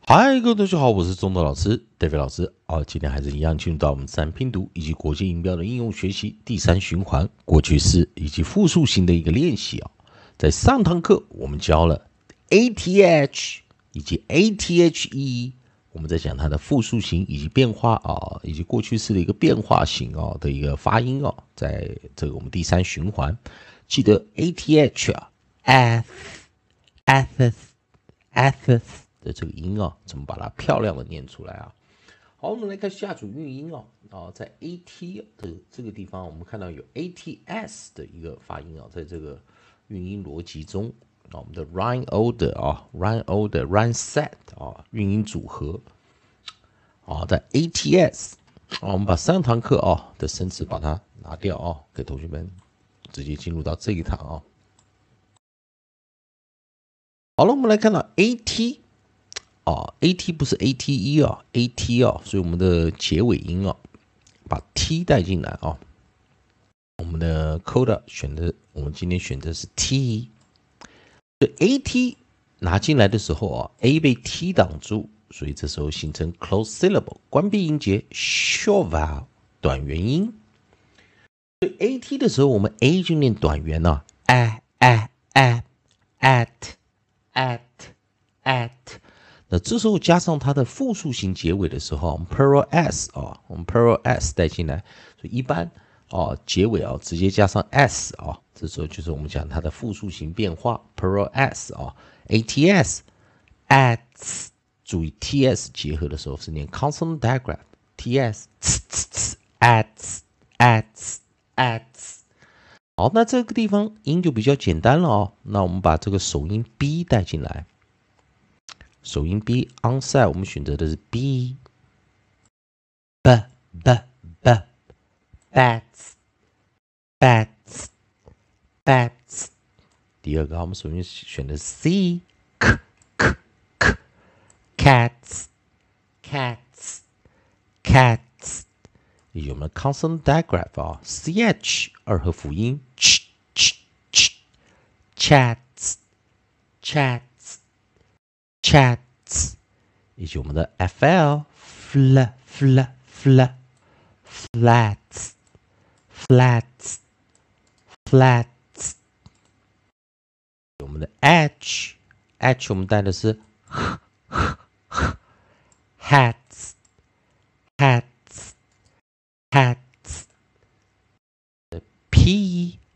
嗨，各位同学好，我是中德老师 David 老师。今天还是一样进入到我们自然拼读以及国际音标的应用学习第三循环过去式以及复数型的一个练习啊。在上堂课我们教了 ATH 以及 ATHE， 我们在讲它的复数型以及变化啊，以及过去式的一个变化型啊的一个发音啊，在这个我们第三循环，记得 ATH 啊 ，ath 的这个音啊，怎么把它漂亮的念出来啊？好，我们来看下组韵音哦。在 AT 的这个地方，我们看到有 ATS 的一个发音啊，在这个韵音逻辑中我们的 rhyme order、rhyme set 韵音组合在 ATS 我们把上堂课的生词把它拿掉给同学们直接进入到这一堂好了，我们来看到 AT。AT 不是 ATE所以我们的结尾音把 T 带进来我们的 coda 我们今天选的是 T， 所以 AT 拿进来的时候A 被 T 挡住，所以这时候形成 close syllable 关闭音节 short vowel 短元音，所以 AT 的时候我们 A 就念短元at。那这时候加上它的复数型结尾的时候，我们 plural s 我们 plural s 带进来，所以一般结尾直接加上 s 这时候就是我们讲它的复数型变化 plural s ats ats， 注意 ts 结合的时候是念 consonant digraph ts ats。好，那这个地方音就比较简单了那我们把这个首音 b 带进来。首音 B onside 我们选择的是 B bats。 第二个我们首先选的是 C cats， 以及我们的 consonant digraph CH 二合辅音 chats， 以及我们的 FL flats， 我们的 H 我们带的是 hats， P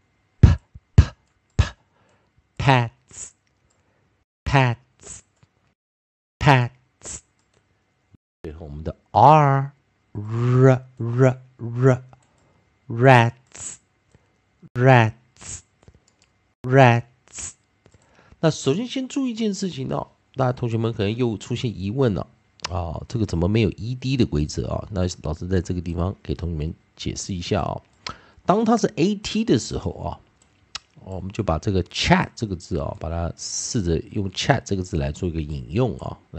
pats， 最后我们的 R rats。 那首先注意一件事情大家同学们可能又出现疑问了这个怎么没有 ED 的规则那老师在这个地方给同学们解释一下当它是 AT 的时候我们就把这个 chat 这个字把它试着用 chat 这个字来做一个引用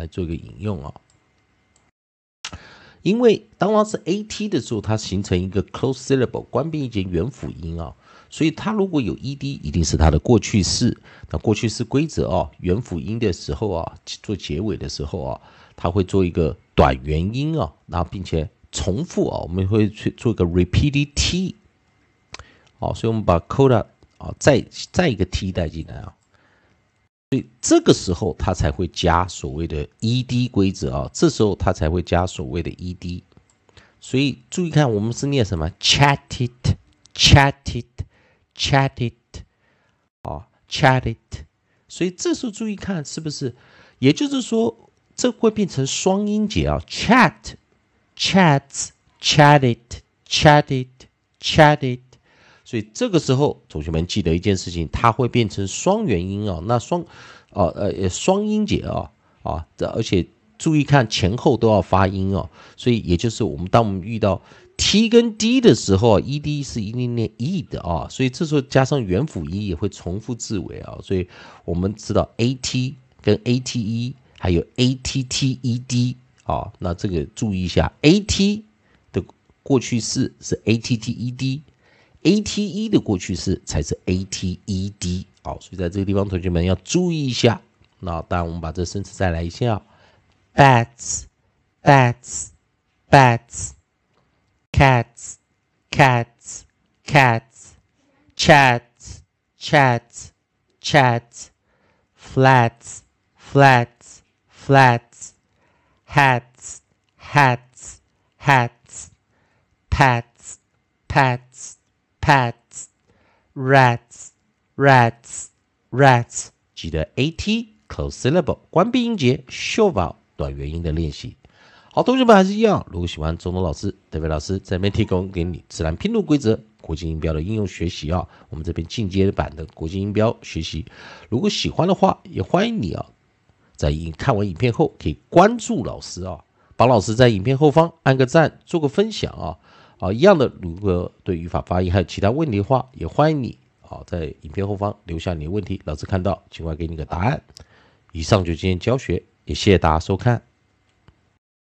因为当它是 AT 的时候，它形成一个 close syllable 关闭一节元辅音所以它如果有 ED 一定是它的过去式。那过去式规则元辅音的时候做结尾的时候它会做一个短元音然后并且重复我们会去做一个 repeated T所以我们把 coda再一个 T 带进来所以这个时候它才会加所谓的 ED 规则这时候它才会加所谓的 ED。所以注意看，我们是念什么 chatted， 所以这时候注意看是不是，也就是说这会变成双音节chat chats chatted。所以这个时候，同学们记得一件事情，它会变成双元音那双音节而且注意看前后都要发音所以也就是当我们遇到 T 跟 D 的时候，ED 是一定念 E 的所以这时候加上元辅音也会重复字尾所以我们知道 AT 跟 ATE 还有 ATTED 那这个注意一下 ，AT 的过去式是 ATTED。ATE 的过去式才是 ATED 所以在这个地方同学们要注意一下。那当然我们把这生词再来一下 bats, bats, bats, cats, cats, cats, chats, chats, chats, flats, flats, flats, hats, hats, hats, pats, pats, pats, rats, rats, rats。记得 AT close syllable 关闭音节，秀宝短元音的练习。好，同学们还是一样，如果喜欢中东老师、德伟老师在这边提供给你自然拼读规则、国际音标的应用学习啊，我们这边进阶版的国际音标学习，如果喜欢的话，也欢迎你啊，在看完影片后可以关注老师啊，帮老师在影片后方按个赞，做个分享啊，一样的，如果对语法发音还有其他问题的话，也欢迎你啊，在影片后方留下你的问题，老师看到尽快给你个答案。以上就今天教学，也谢谢大家收看。